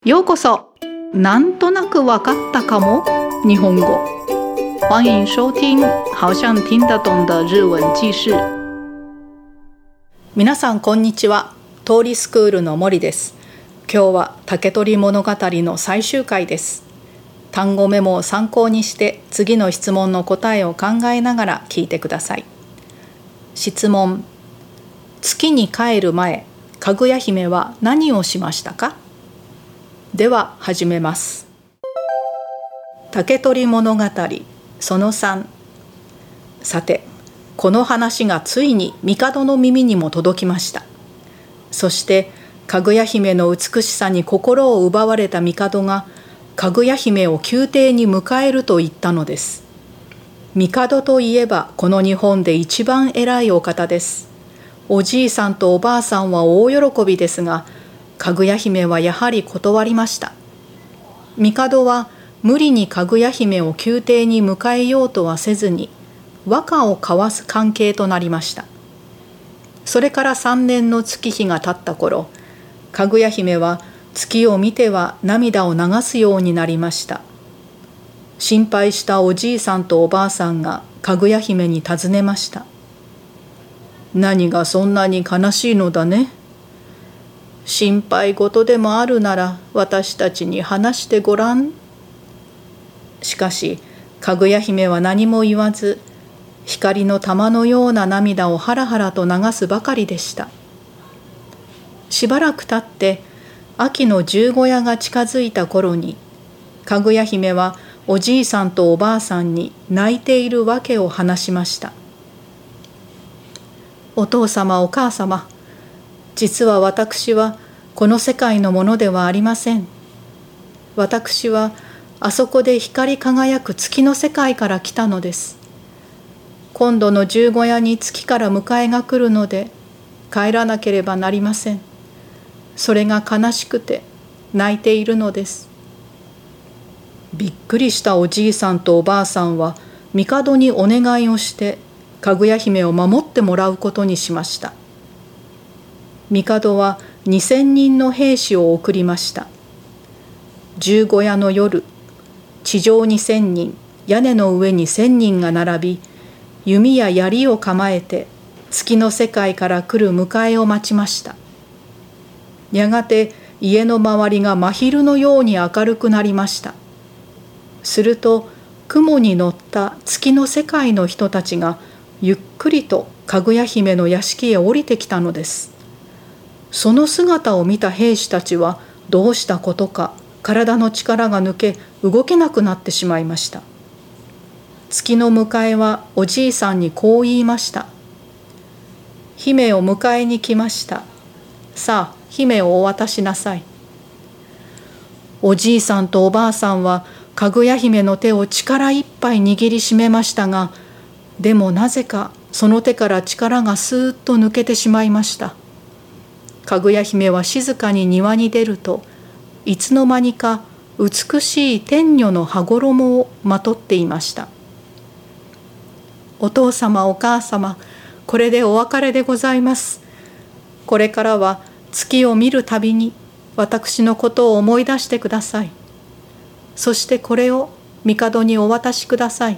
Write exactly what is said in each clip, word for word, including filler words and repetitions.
ようこそ。なんとなくわかったかも日本語。欢迎收听好像听得懂的日文記事。皆さんこんにちは。通りスクールの森です。今日は竹取物語の最終回です。単語メモを参考にして次の質問の答えを考えながら聞いてください。質問。月に帰る前、かぐや姫は何をしましたか？では始めます。竹取物語そのさん。さて、この話がついに帝の耳にも届きました。そしてかぐや姫の美しさに心を奪われた帝がかぐや姫を宮廷に迎えると言ったのです。帝といえばこの日本で一番偉いお方です。おじいさんとおばあさんは大喜びですが、かぐや姫はやはり断りました。帝は無理にかぐや姫を宮廷に迎えようとはせずに、和歌を交わす関係となりました。それから三年の月日が経った頃、かぐや姫は月を見ては涙を流すようになりました。心配したおじいさんとおばあさんがかぐや姫に尋ねました。何がそんなに悲しいのだね。心配事でもあるなら私たちに話してごらん。しかしかぐや姫は何も言わず、光の玉のような涙をハラハラと流すばかりでした。しばらく経って秋の十五夜が近づいた頃に、かぐや姫はおじいさんとおばあさんに泣いているわけを話しました。お父様お母様、実は私はこの世界のものではありません。私はあそこで光り輝く月の世界から来たのです。今度の十五夜に月から迎えが来るので帰らなければなりません。それが悲しくて泣いているのです。びっくりしたおじいさんとおばあさんは帝にお願いをしてかぐや姫を守ってもらうことにしました。帝は二千人の兵士を送りました。十五夜の夜、地上に千人、屋根の上に千人が並び、弓や槍を構えて月の世界から来る迎えを待ちました。やがて家の周りが真昼のように明るくなりました。すると雲に乗った月の世界の人たちがゆっくりとかぐや姫の屋敷へ降りてきたのです。その姿を見た兵士たちはどうしたことか体の力が抜け動けなくなってしまいました。月の迎えはおじいさんにこう言いました。姫を迎えに来ました。さあ姫をお渡しなさい。おじいさんとおばあさんはかぐや姫の手を力いっぱい握りしめましたが、でもなぜかその手から力がスーッと抜けてしまいました。かぐや姫は静かに庭に出ると、いつの間にか美しい天女の羽衣をまとっていました。お父様お母様、これでお別れでございます。これからは月を見るたびに私のことを思い出してください。そしてこれを帝にお渡しください。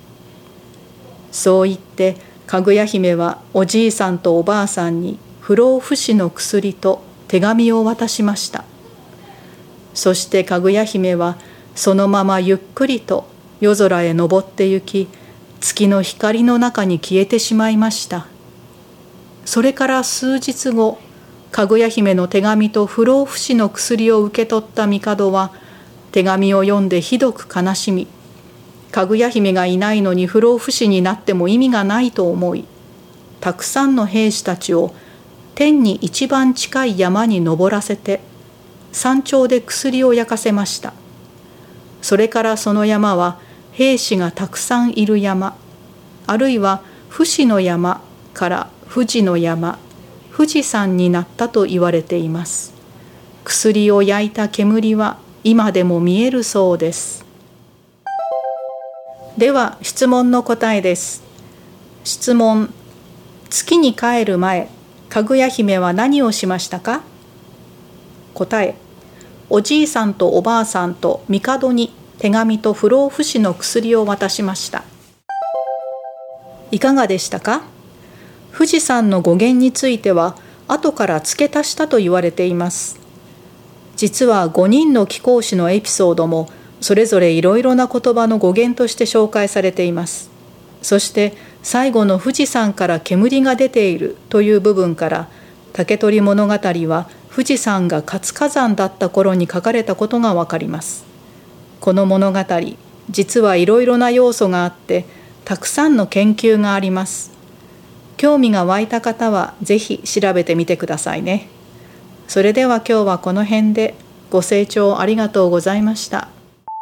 そう言ってかぐや姫はおじいさんとおばあさんに不老不死の薬と手紙を渡しました。そしてかぐや姫はそのままゆっくりと夜空へ登って行き、月の光の中に消えてしまいました。それから数日後、かぐや姫の手紙と不老不死の薬を受け取った帝は手紙を読んでひどく悲しみ、かぐや姫がいないのに不老不死になっても意味がないと思い、たくさんの兵士たちを天に一番近い山に登らせて山頂で薬を焼かせました。それからその山は兵士がたくさんいる山、あるいは不死の山から富士の山、富士山になったと言われています。薬を焼いた煙は今でも見えるそうです。では質問の答えです。質問。月に帰る前、かぐや姫は何をしましたか？答え。 おじいさんとおばあさんと帝に手紙と不老不死の薬を渡しました。いかがでしたか？富士山の語源については後から付け足したと言われています。実はごにんの貴公子のエピソードもそれぞれいろいろな言葉の語源として紹介されています。そして最後の富士山から煙が出ているという部分から竹取物語は富士山が活火山だった頃に書かれたことがわかります。この物語、実はいろいろな要素があってたくさんの研究があります。興味が湧いた方はぜひ調べてみてくださいね。それでは今日はこの辺で。ご清聴ありがとうございました。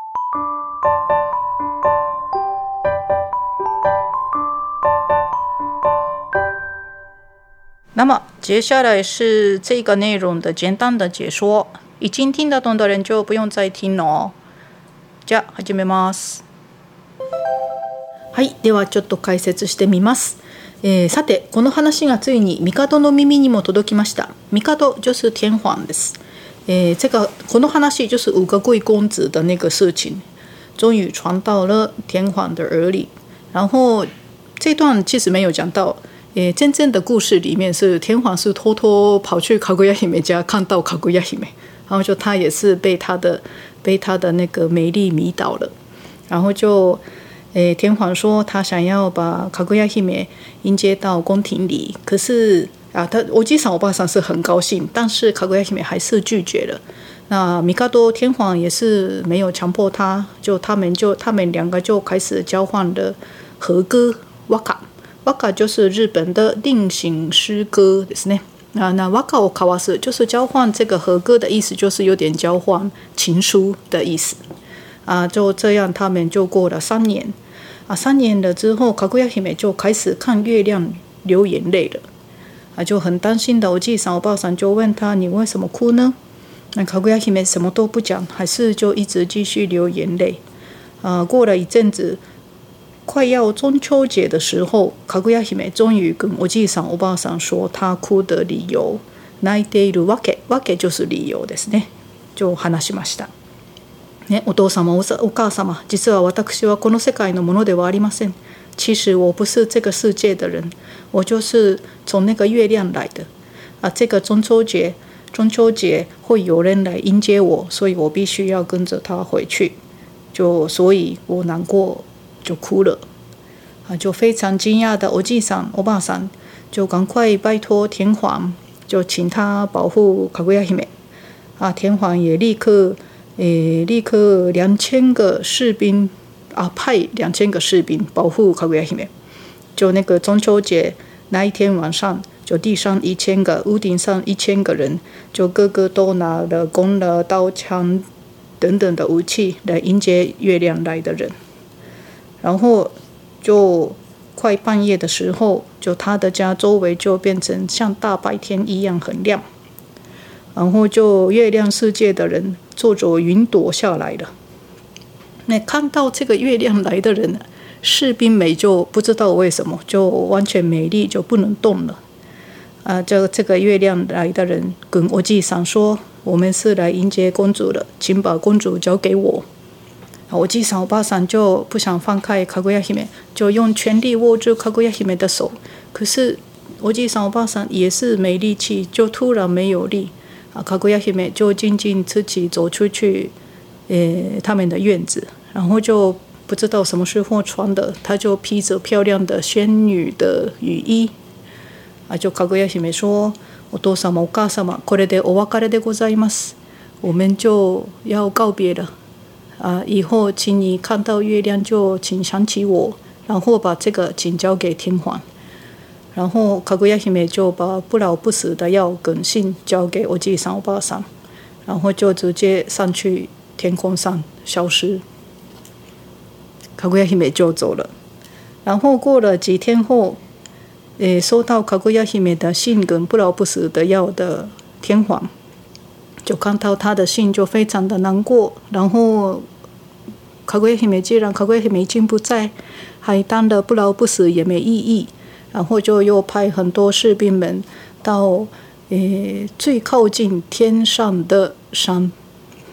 那么接下来是这个内容的简单的解说，已经听得懂的人就不用再听了哦。じゃあ始めます。はい、ではちょっと解説してみます。えー、さてこの話がついに帝の耳にも届きました。帝就是天皇です。えー、这个この話就是五个贵公子的那个事情，终于传到了天皇的耳里。然后这段其实没有讲到，诶，真正的故事里面是天皇是偷偷跑去卡古亚姫家看到卡古亚姫，然后就他也是被他的被他的那个美丽迷倒了，然后就。诶，天皇说他想要把卡古亚姫迎接到宫廷里，可是啊，他我记上我爸上是很高兴，但是卡古亚姫还是拒绝了。那米卡多天皇也是没有强迫他，就他们就他们两个就开始交换了和歌哇卡，哇卡就是日本的令行诗歌ですね。啊，那哇卡を交わす就是交换这个和歌的意思，就是有点交换情书的意思。啊，就这样，他们就过了三年。啊，三年了之后，卡古亚姫就开始看月亮流眼泪了。啊，就很担心的。我记上我爸上就问他：“你为什么哭呢？”那卡古亚姫什么都不讲，还是就一直继续流眼泪。啊，过了一阵子，快要中秋节的时候，卡古亚姫终于跟我记上我爸上说他哭的理由。泣いているわけ、わけ就是理由ですね。就話しました。ね、お父様、お母様、実は私はこの世界のものではありません。其实我不是这个世界的人，我就是从那个月亮来的。啊，这个中秋节，中秋节会有人来迎接我，所以我必须要跟着他回去。就所以我难过，就哭了。啊，就非常惊讶的おじいさん、おばあさん，就赶快拜托天皇，就请他保护卡古亚姫。啊，天皇也立刻。诶，立刻两千个士兵啊，派两千个士兵保护卡古亚姫。就那个中秋节那一天晚上，就地上一千个，屋顶上一千个人，就个个都拿了弓了、刀枪等等的武器来迎接月亮来的人。然后就快半夜的时候，就他的家周围就变成像大白天一样很亮。然后就月亮世界的人坐着云朵下来了。那看到这个月亮来的人，士兵们就不知道为什么就完全美丽就不能动了。啊，这这个月亮来的人跟我继上说：“我们是来迎接公主的，请把公主交给我。”我继上我爸上就不想放开卡古亚姫，就用全力握住卡古亚姫的手。可是我继上我爸上也是没力气，就突然没有力。啊，卡古亚姫就静静自己走出去，呃，他们的院子，然后就不知道什么时候穿的，她就披着漂亮的仙女的雨衣。啊，就卡古亚姫说：“お父様、お母様、これでお別れでございます。我们就要告别了。啊，以后请你看到月亮就请想起我，然后把这个请交给天皇。”然后卡古亚姫就把不老不死的药跟信交给我继上我爸上，然后就直接上去天空上消失。卡古亚姫就走了。然后过了几天后，诶，收到卡古亚姫的信跟不老不死的药的天皇，就看到他的信就非常的难过。然后卡古亚姫既然卡古亚姫已经不在，还当了不老不死也没意义。然后就又派很多士兵们到诶最靠近天上的山，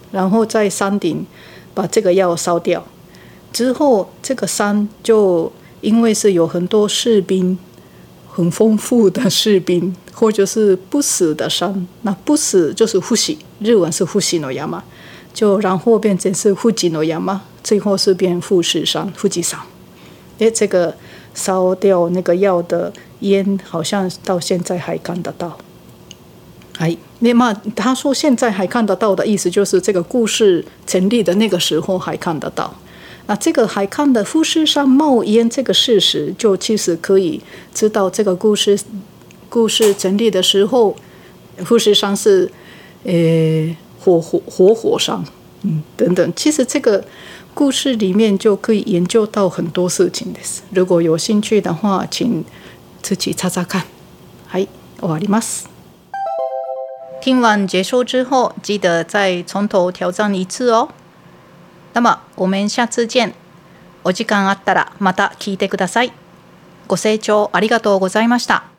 然后在山顶把这个药烧掉。之后这个山就因为是有很多士兵，很丰富的士兵，或者是不死的山，那不死就是富士，日文是富士の山，就然后变成是富士の山，最后是变富士山，富士山。诶，这个烧掉那个药的烟，好像到现在还看得到。哎，那么他说现在还看得到的意思，就是这个故事成立的那个时候还看得到。那这个还看的富士山冒烟这个事实，就其实可以知道这个故事故事成立的时候，富士山是呃活火活火山，嗯等等。其实这个故事里面就可以研究到很多事情です。如果有兴趣的话，请自己查查看。はい、終わります。听完结束之后，记得再从头挑战一次哦。那么我们下次见。お時間あったらまた聞いてください。ご清聴ありがとうございました。